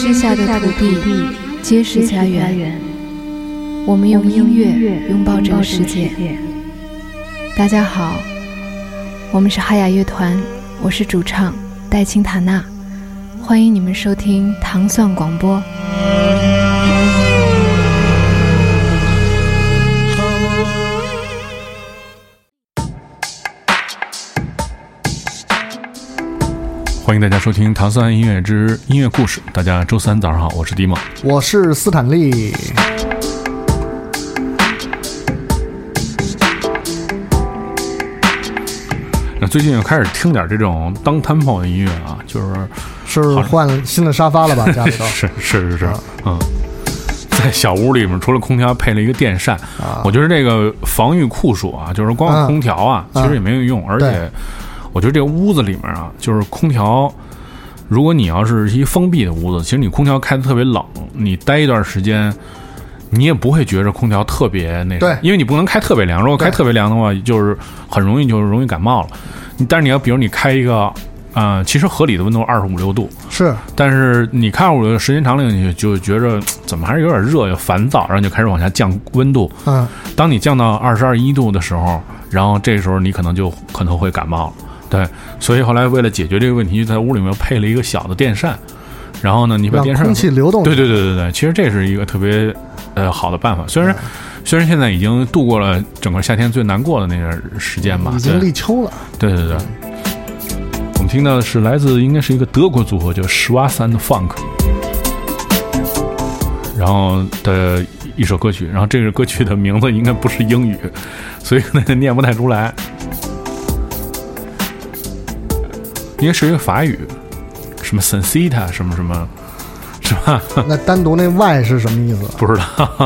之下的土地皆是家园，我们用音乐拥抱这个世界。大家好，我们是哈雅乐团，我是主唱戴青塔娜，欢迎你们收听糖蒜广播。 欢迎大家收听糖蒜音乐之音乐故事。大家周三早上好，我是迪梦， 我是斯坦利。 那最近又开始听点这种当tempo的音乐啊，是换新的沙发了吧？家里头是，在小屋里面除了空调配了一个电扇，我觉得这个防御酷暑啊，就是光有空调啊，其实也没有用，而且我觉得这个屋子里面啊，就是空调，如果你要是一封闭的屋子，其实你空调开得特别冷，你待一段时间，你也不会觉着空调特别那啥，因为你不能开特别凉，如果开特别凉的话，就是很容易感冒了。但是你要比如你开一个，其实合理的温度25、6度是，但是你开25、6度时间长了，你就觉着怎么还是有点热，又烦躁，然后就开始往下降温度。当你降到22、1度的时候，然后这时候你可能会感冒了。对，所以后来为了解决这个问题，就在屋里面配了一个小的电扇，然后呢，你把电扇让空气流动。 对，其实这是一个特别好的办法。虽然现在已经度过了整个夏天最难过的那段时间吧， 已经立秋了。对。 我们听到的是来自应该是一个德国组合叫Schwarz Funk， 然后的一首歌曲，然后这个歌曲的名字应该不是英语，所以呢念不太出来。应该是一个法语，什么 sensita 什么，是吧？ 那单独那 Y 是什么意思？ 不知道。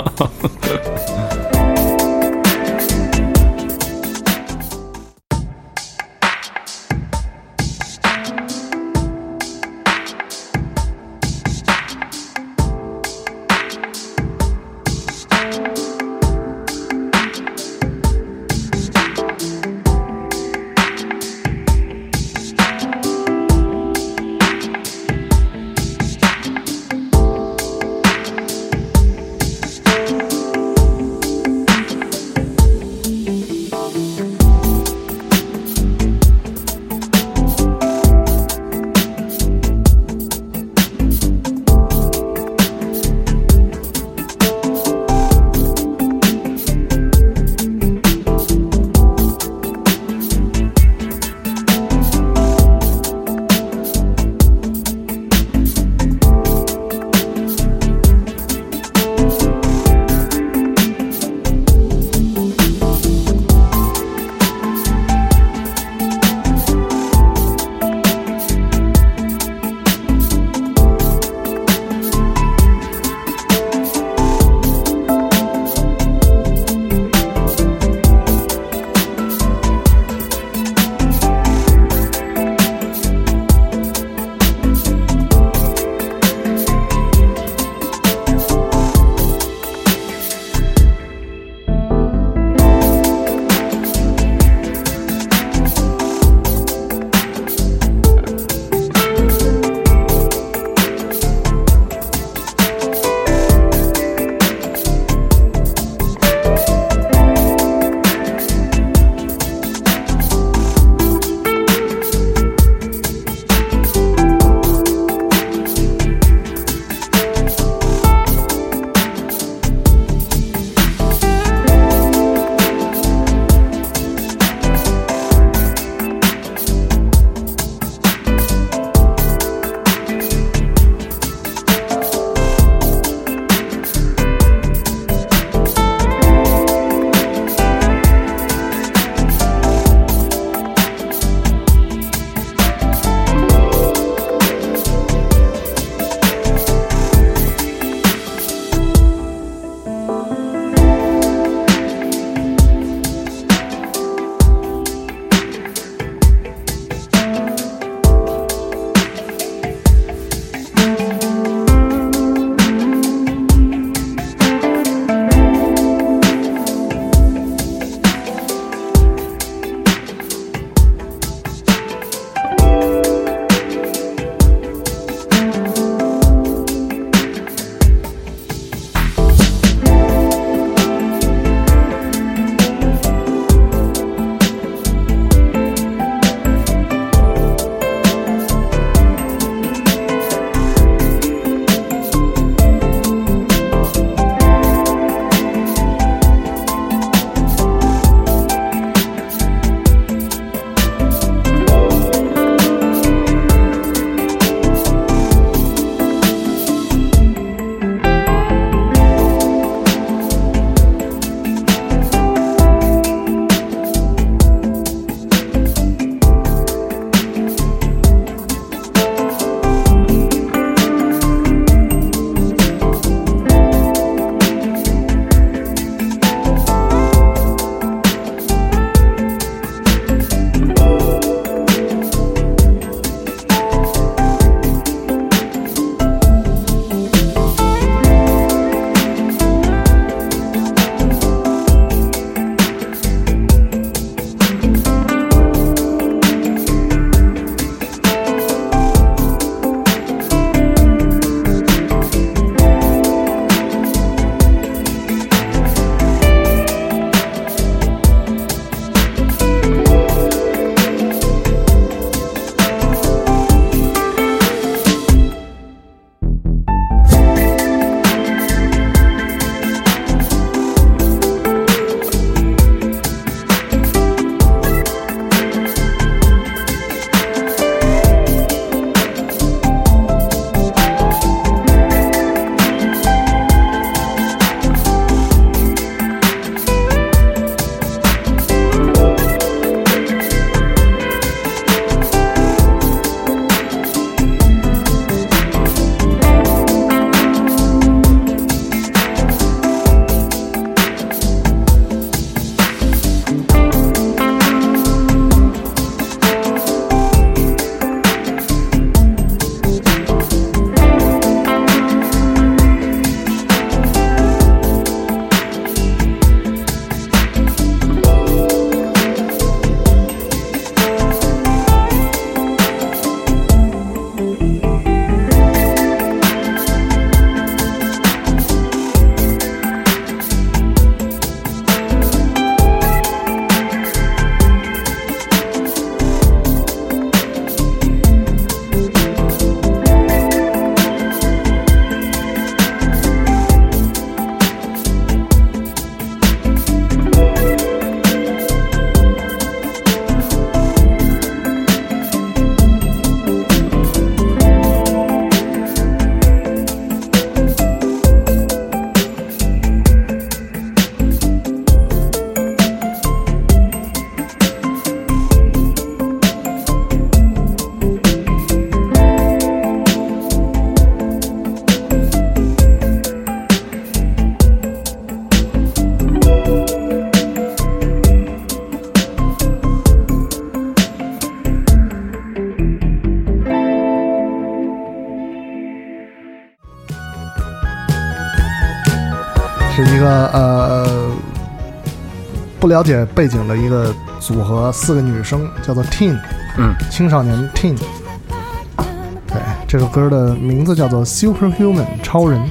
不了解背景的一个组合，4个女生，叫做 Teen， 青少年 Teen。对，这首歌的名字叫做 Superhuman 超人。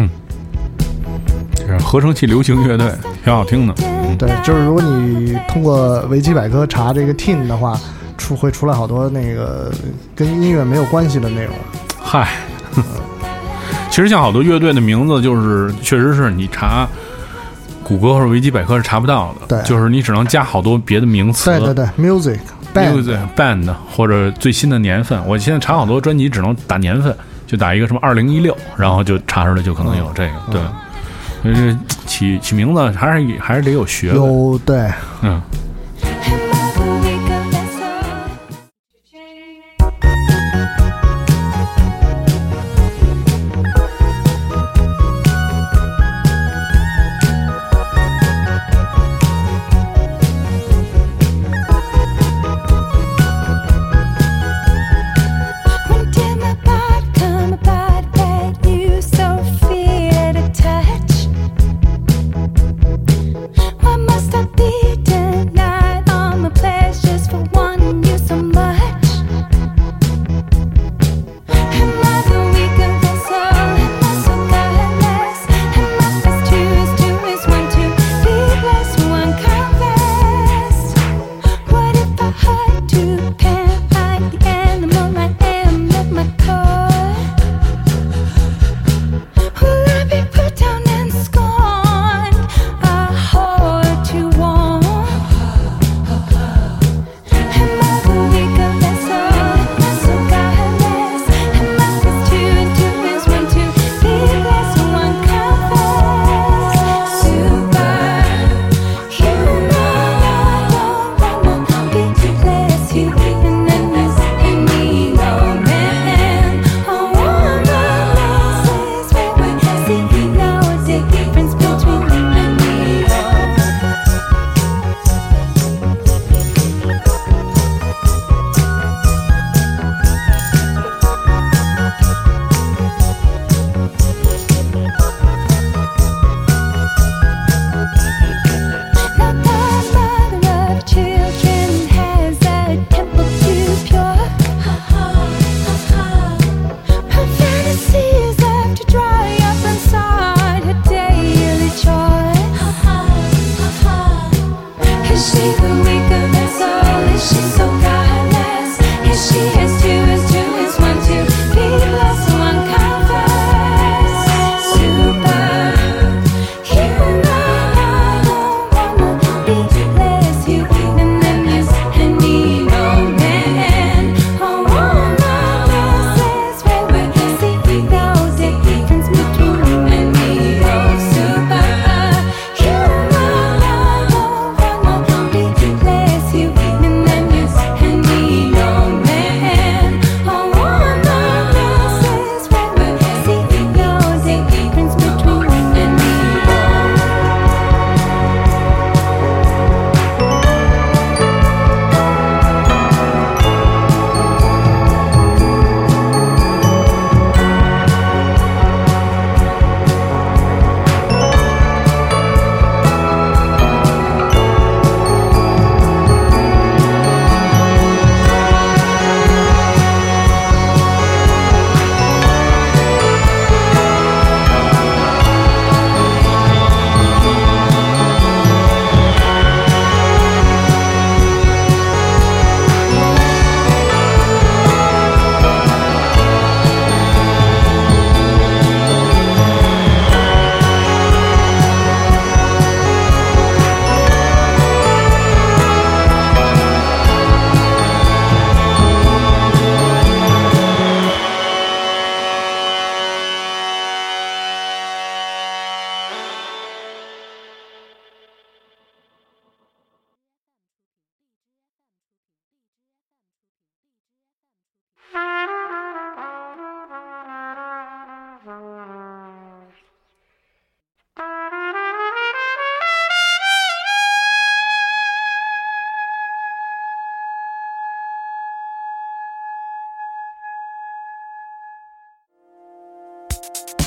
这是合成器流行乐队，挺好听的。 对，就是如果你通过维基百科查这个 Teen 的话，会出来好多那个跟音乐没有关系的内容。 嗨，其实像好多乐队的名字，就是确实是你查谷歌或者维基百科是查不到的。 对， 就是你只能加好多别的名词。 对 music band 或者最新的年份。我现在查好多专辑只能打年份，就打一个什么2016，然后就查出来就可能有这个。对，所以这起名字还是得有学问。 对，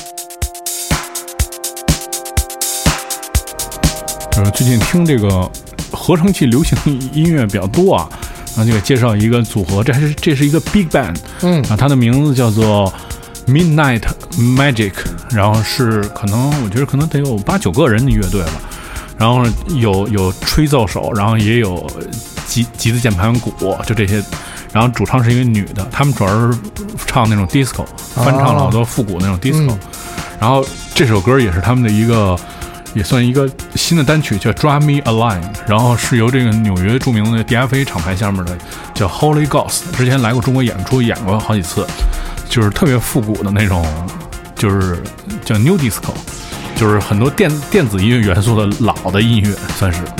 最近听这个合成器流行音乐比较多啊。然后就给介绍一个组合，这是一个 big band， 啊，它的名字叫做 Midnight Magic， 然后是我觉得可能得有8-9个人的乐队了，然后有吹奏手，然后也有吉他键盘鼓，就这些，然后主唱是一个女的，他们主要是唱那种 disco， 翻唱了好多复古那种 disco，然后这首歌也是他们的也算一个新的单曲，叫 Draw Me a Line， 然后是由这个纽约著名的 DFA 厂牌下面的叫 Holy Ghost， 之前来过中国演过好几次，就是特别复古的那种，就是叫 New Disco， 就是很多电子音乐元素的老的音乐算是。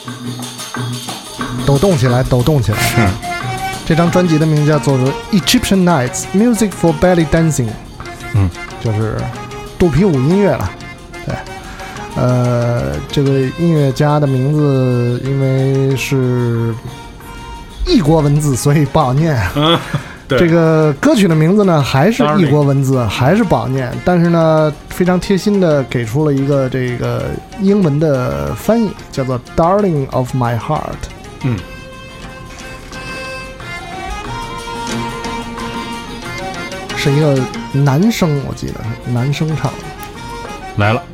抖动起来，抖动起来。 是。 这张专辑的名字叫做《Egyptian Nights Music for Belly Dancing》，就是肚皮舞音乐了。对，这个音乐家的名字因为是异国文字，所以不好念。这个歌曲的名字呢，还是异国文字，还是不好念。但是呢，非常贴心的给出了一个这个英文的翻译，叫做《Darling of My Heart》。是一个男生，我记得是男生唱的。 来了。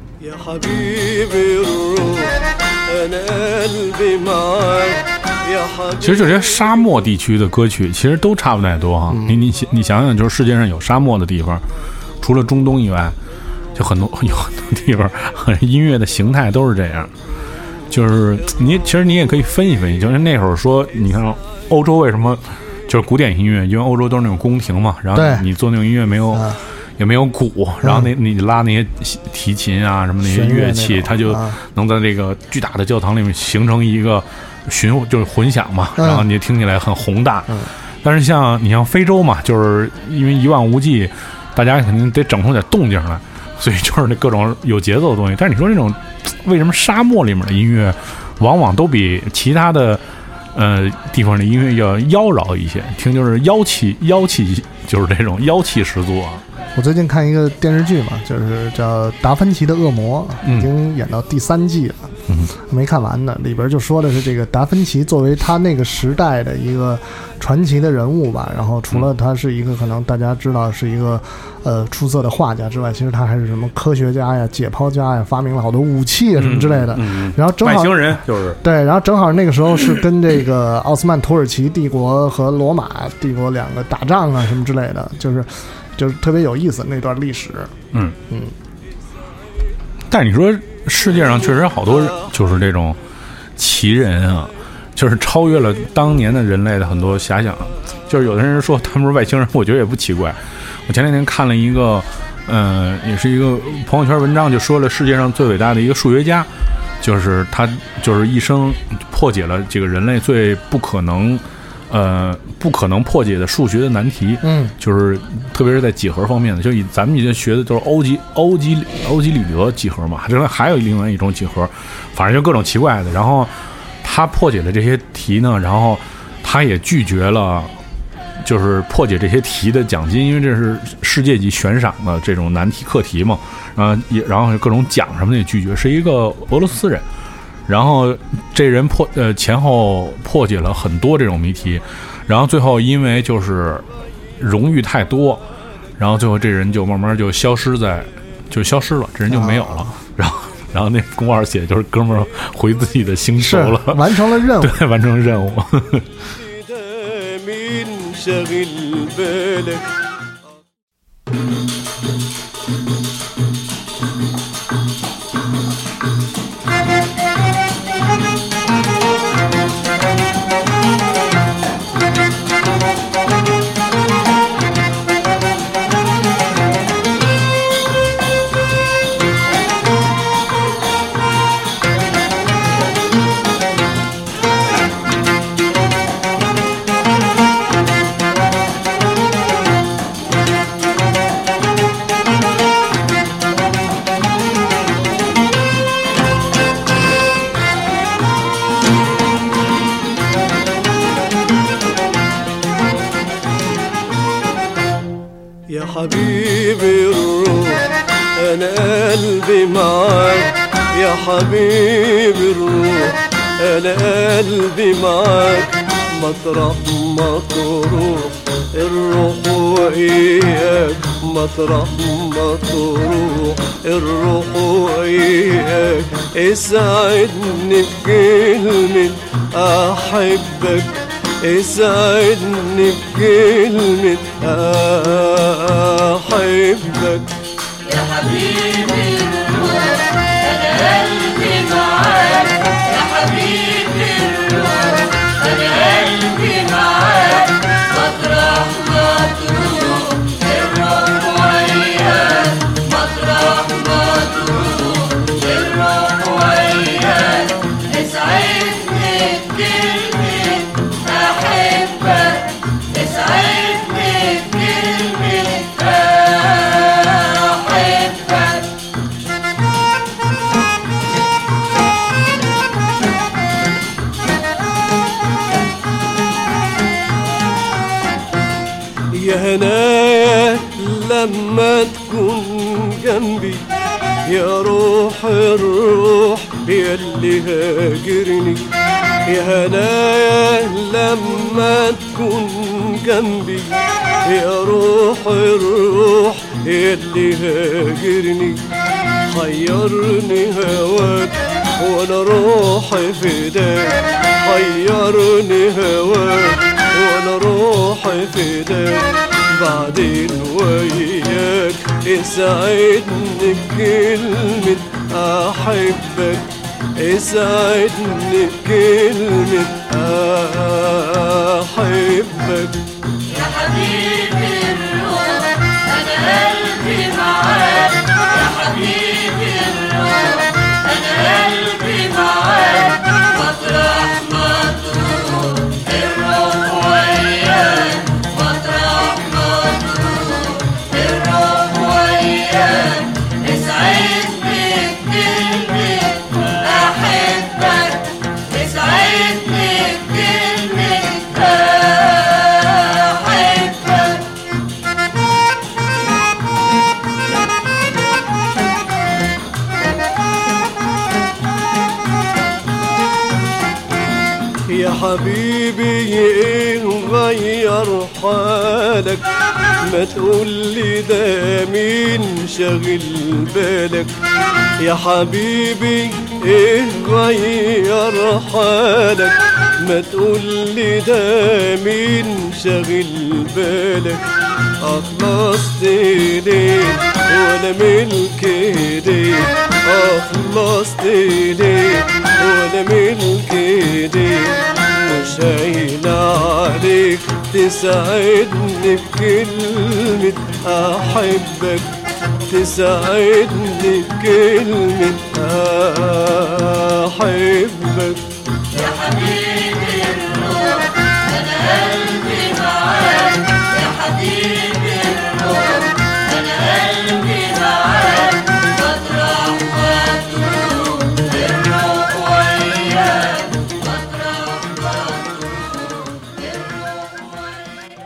其实这些沙漠地区的歌曲其实都差不太多哈。你想想，就是世界上有沙漠的地方，除了中东以外，就有很多地方音乐的形态都是这样。就是其实你也可以分析分析，就是那会儿说，你看欧洲为什么就是古典音乐，因为欧洲都是那种宫廷嘛，然后你做那种音乐也没有鼓，然后你拉那些提琴啊什么那些乐器，它就能在这个巨大的教堂里面形成一个就是混响嘛，然后你听起来很宏大。但是你像非洲嘛，就是因为一望无际，大家肯定得整出点动静来，所以就是那各种有节奏的东西。但是你说这种为什么沙漠里面的音乐往往都比其他的地方的音乐要妖娆一些，听就是妖气，就是这种妖气十足啊。 我最近看一个电视剧嘛，就是叫《达芬奇的恶魔》，已经演到第3季了，没看完呢。里边就说的是这个达芬奇作为他那个时代的一个传奇的人物吧，然后除了他是一个可能大家知道是一个出色的画家之外，其实他还是什么科学家呀、解剖家呀，发明了好多武器啊什么之类的。然后正好外星人就是对，然后正好那个时候是跟这个奥斯曼土耳其帝国和罗马帝国两个打仗啊什么之类的，就是特别有意思那段历史。 但是你说世界上确实好多就是这种奇人啊，就是超越了当年的人类的很多遐想。就是有的人说他们是外星人，我觉得也不奇怪。我前两天看了一个也是一个朋友圈文章，就说了世界上最伟大的一个数学家，就是他就是一生破解了这个人类最不可能破解的数学的难题。就是特别是在几何方面的，就咱们以前学的都是欧几里得几何嘛，这还有另外一种几何，反正就各种奇怪的。然后他破解了这些题呢，然后他也拒绝了就是破解这些题的奖金，因为这是世界级悬赏的这种难题课题嘛，然后各种奖什么的也拒绝，是一个俄罗斯人。然后这人前后破解了很多这种谜题，然后最后因为就是荣誉太多，然后最后这人就慢慢就消失了，这人就没有了。然后那公告写就是哥们儿回自己的星球了， 完成了任务。 对，完成了任务。 حبيبي الروح أنا قلبي معاك يا حبيبي الروح أنا قلبي معاك مطرح ما تروح الروح وإياك مطرح ما تروح الروح وإياك اسعدني بكلمة أحبك اسعدني بكلمة أحبك يا حبيبي الروح أنا قلبي معاك يا حبيبي الروح أنا قلبي معاك مطرح ما تروح الروح وياك مطرح ما تروح الروح وياك اسعدني هنايا لما تكون جنبي يا روح الروح ياللي هاجرني يا هنايا لما تكون جنبي يا روح الروح ياللي هاجرني حيرني هواك وانا روحي فداك حيرني هواك وانا روحي فداك بعدين وياك اسعدني بكلمة احبك اسعدني بكلمة احبك يا حبيبي الروح انا قلبي معاك يا حبيبي الروح انا قلبي معاك مطرح ما تروح الروح وياك مطرح ما تروح الروح وياك اسعدني بكلمة احبك اسعدني بكلمة احبك يا حبيبي ايه غير حالك ما تقولي ده مين شاغل بالك يا حبيبي ايه غير حالك ما تقولي ده مين شاغل بالك اخلصت ليه وانا ملك ايديك اخلصت ليه وانا ملك ايديك مش هين عليك تساعدني بكلمة احبك تساعدني بكلمة احبك يا حبيبي الروح انا قلبي معاك يا حبيبي الروح انا قلبي معاك مطرح ما تروح الروح وياك مطرح ما تروح الروح وياك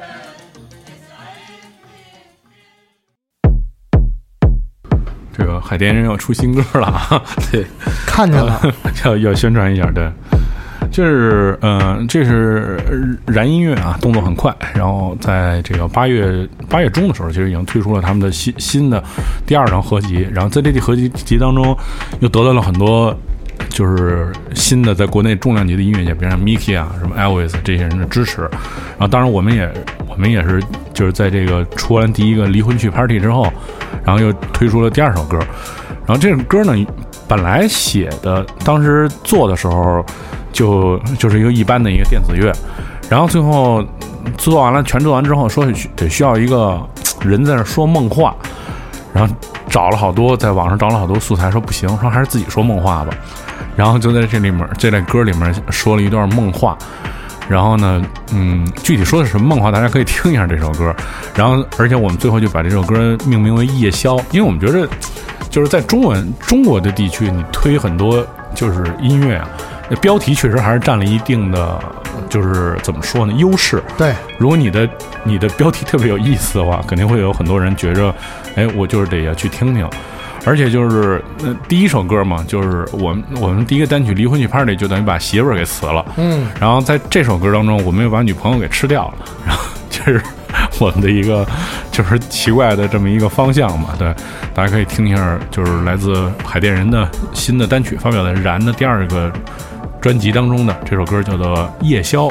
这个海淀人要出新歌了啊！对， 看见了， 要宣传一下，对，就是这是燃音乐啊，动作很快。然后在这个八月中的时候，其实已经推出了他们的新的第2张合集。然后在这合集当中，又得到了很多就是新的在国内重量级的音乐界，比如像 Miki 啊、什么 Elvis 这些人的支持。然后当然我们也是就是在这个出完第一个离婚去 Party 之后，然后又推出了第2首歌。然后这首歌呢，本来写的当时做的时候就是一个一般的一个电子乐，然后最后全做完之后，说得需要一个人在那说梦话，然后在网上找了好多素材，说不行，说还是自己说梦话吧。然后就在这类歌里面说了一段梦话。然后呢，具体说的是什么梦话，大家可以听一下这首歌。然后，而且我们最后就把这首歌命名为《夜宵》，因为我们觉得，就是在中国的地区，你推很多就是音乐啊，那标题确实还是占了一定的，就是怎么说呢，优势。 对， 如果你的标题特别有意思的话，肯定会有很多人觉着，哎，我就是得要去听听。而且就是第一首歌嘛，就是我们第一个单曲《离婚去 Party》就等于把媳妇儿给辞了，然后在这首歌当中，我们又把女朋友给吃掉了，然后这是我们的一个就是奇怪的这么一个方向嘛。对，大家可以听一下，就是来自海淀人的新的单曲，发表在《燃》的第2个专辑当中的这首歌叫做《夜宵》。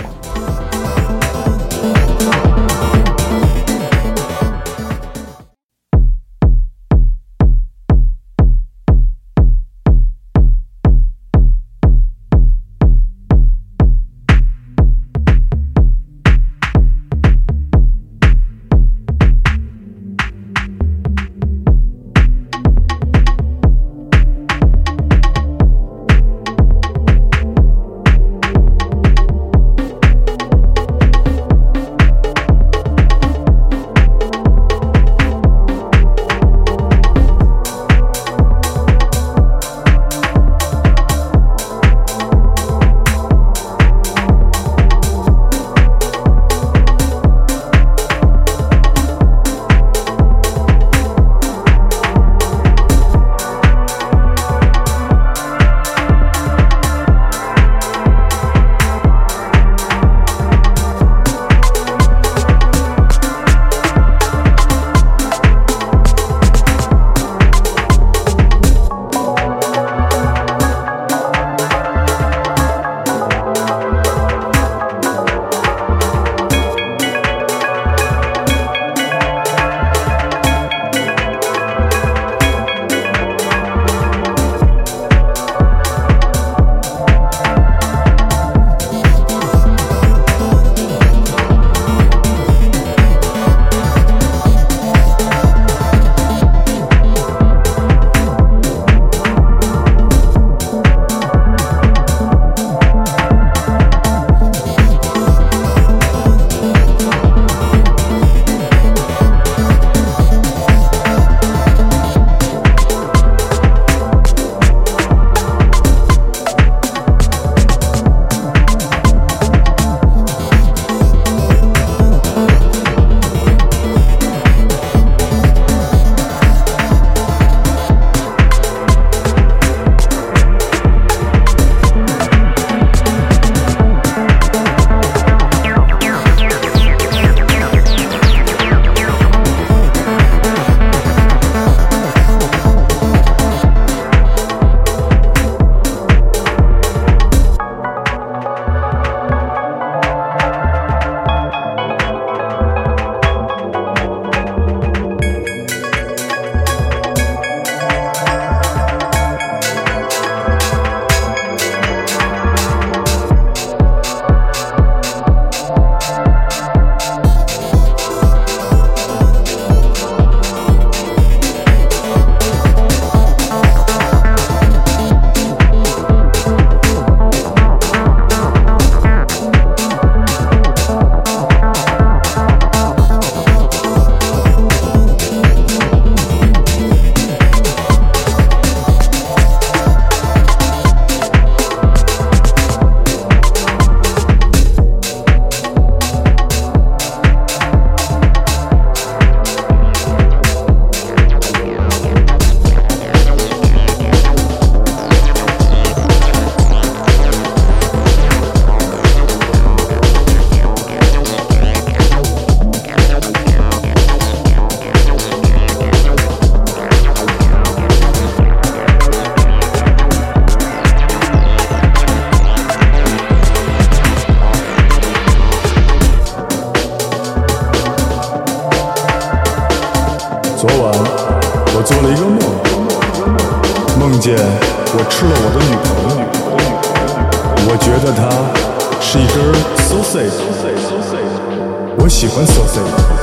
得它是一根 sausage， 我喜欢 sausage。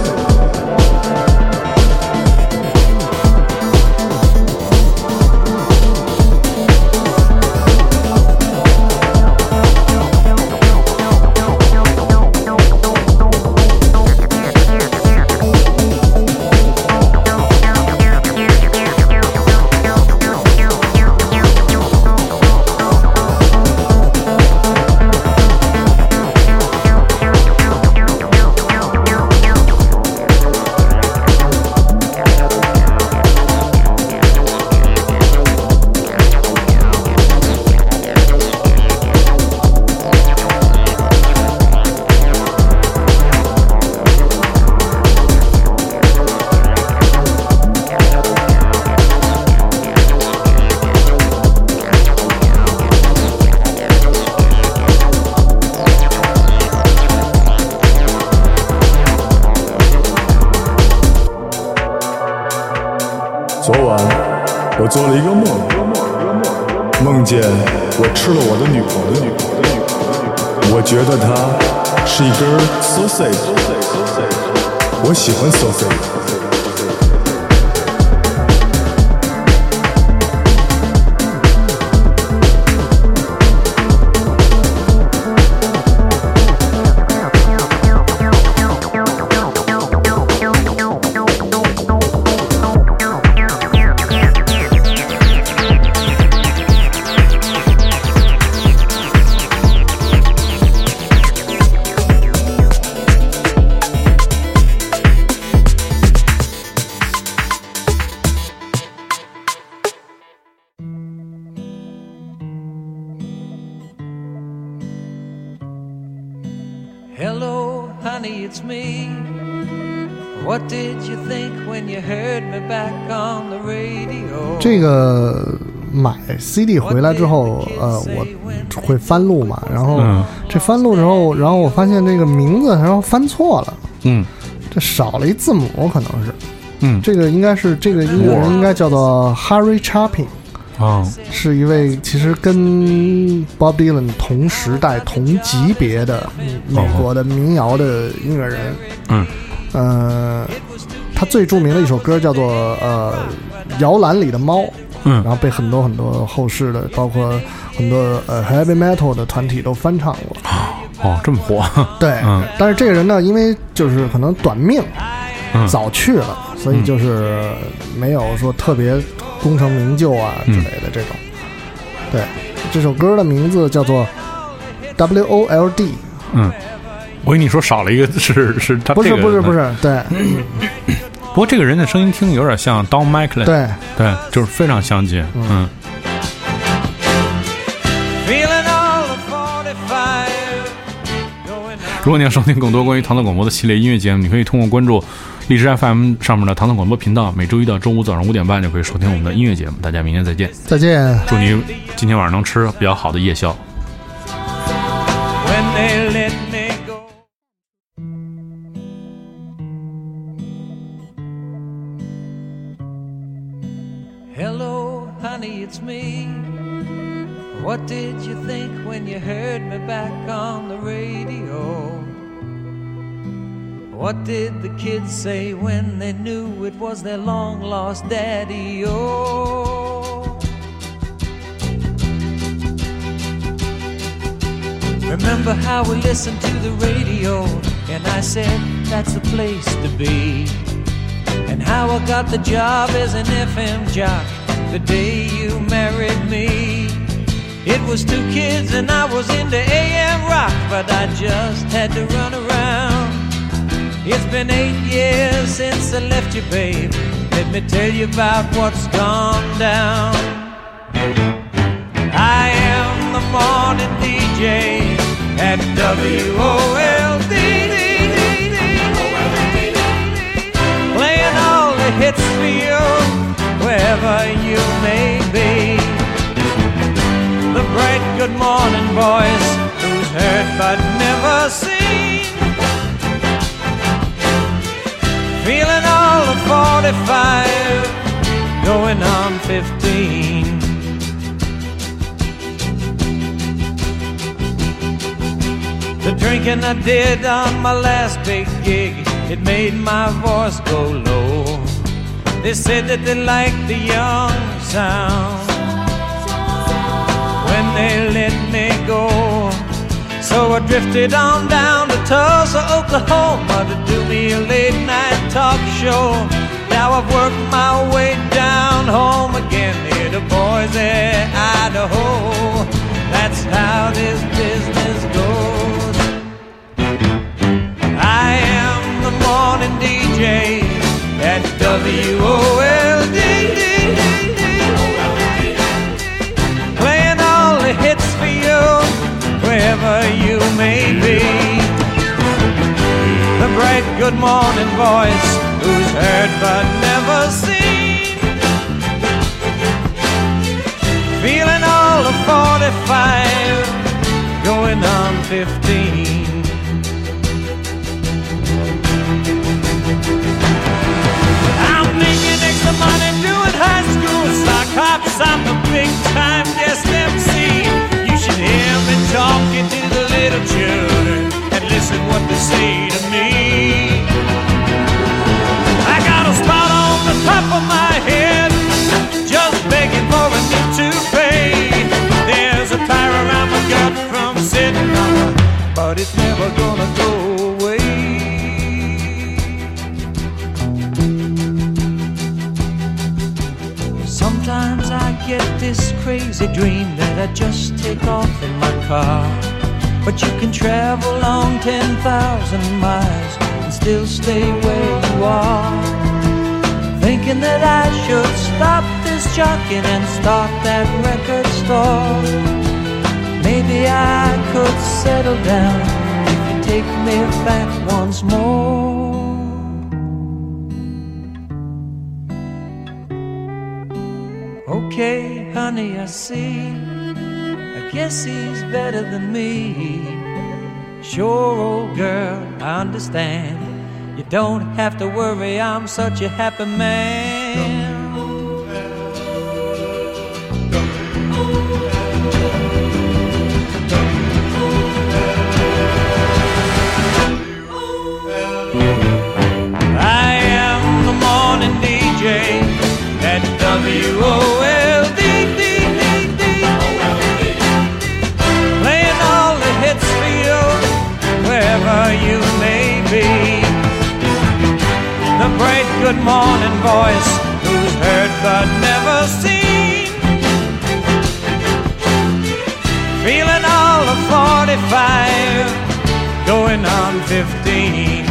昨晚我做了一个梦，梦见我吃了我的女朋友，我觉得她是一根 sausage， 我喜欢 sausage。 Hello, honey, it's me. What did you think when you heard me back on the radio? 这个买 CD 回来之后，我会翻录嘛，然后这翻录之后，然后我发现这个名字然后翻错了，这少了一字母，可能是，这个应该是这个音乐人应该叫做 Harry Chapin。是一位其实跟 Bob Dylan 同时代同级别的美国的民谣的音乐人。他最著名的一首歌叫做摇篮里的猫，然后被很多很多后世的包括很多heavy metal 的团体都翻唱过。 这么火。 对，但是这个人呢，因为就是可能短命，早去了，所以就是没有说特别功成名就啊之类的这种。对，这首歌的名字叫做 WOLD。 我跟你说少了一个是他、 不是对。 不过这个人的声音听有点像 Don McLean。对，就是非常相近。如果你要收听更多关于唐唐广播的系列音乐节目，你可以通过关注荔枝 FM 上面的唐唐广播频道，每周一到周五早上5点半就可以收听我们的音乐节目。大家明天再见。 再见。 祝你今天晚上能吃比较好的夜宵。 Hello, honey, it's me. What did you think when you heard me back on the radio? What did the kids say when they knew it was their long-lost daddy-o? Remember how we listened to the radio, and I said that's the place to be. And how I got the job as an FM jock the day you married me. It was 2 kids and I was into AM rock, but I just had to run around. It's been 8 years since I left you, babe. Let me tell you about what's gone down. I am the morning DJ at WOLD, playing all the hits for you wherever you may be. The bright good morning voice who's heard but never seen, feeling all of 45, going on 15. drinking I did on my last big gig, it made my voice go low. They said that they liked the young sound when they let me go. So I drifted on down to Tulsa, Oklahoma to do me a late night talk show. Now I've worked my way down home again here to Boise, Idaho. That's how this business goes. I am the morning DJ at WOLD, playing all the hits for you wherever you may be. The bright good morning voice who's heard but never seen, feeling all of 45, going on 15. I'm making extra money doing high school sock hops. I'm the big time guest MC. You should hear me talking to the little children and listen what they say to me. I got a spot on the top of my head, just begging for a new toupee. There's a tire around my gut from sitting on it, but it's never gonna go away. Sometimes I get this crazy dream that I just take off in my car, but you can travel on 10,000 miles and still stay where you are. Thinking that I should stop this jockeying and start that record store. Maybe I could settle down if you take me back once more. Okay, honey, I see. I guess he's better than me. Sure, old girl, I understand. You don't have to worry, I'm such a happy man. I am the morning DJ at WOLD, playing all the hits for you wherever you may be. The bright good morning voice who's heard but never seen, feeling all of 45, going on 15.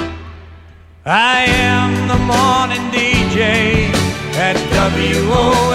I am the morning DJ at WOLD.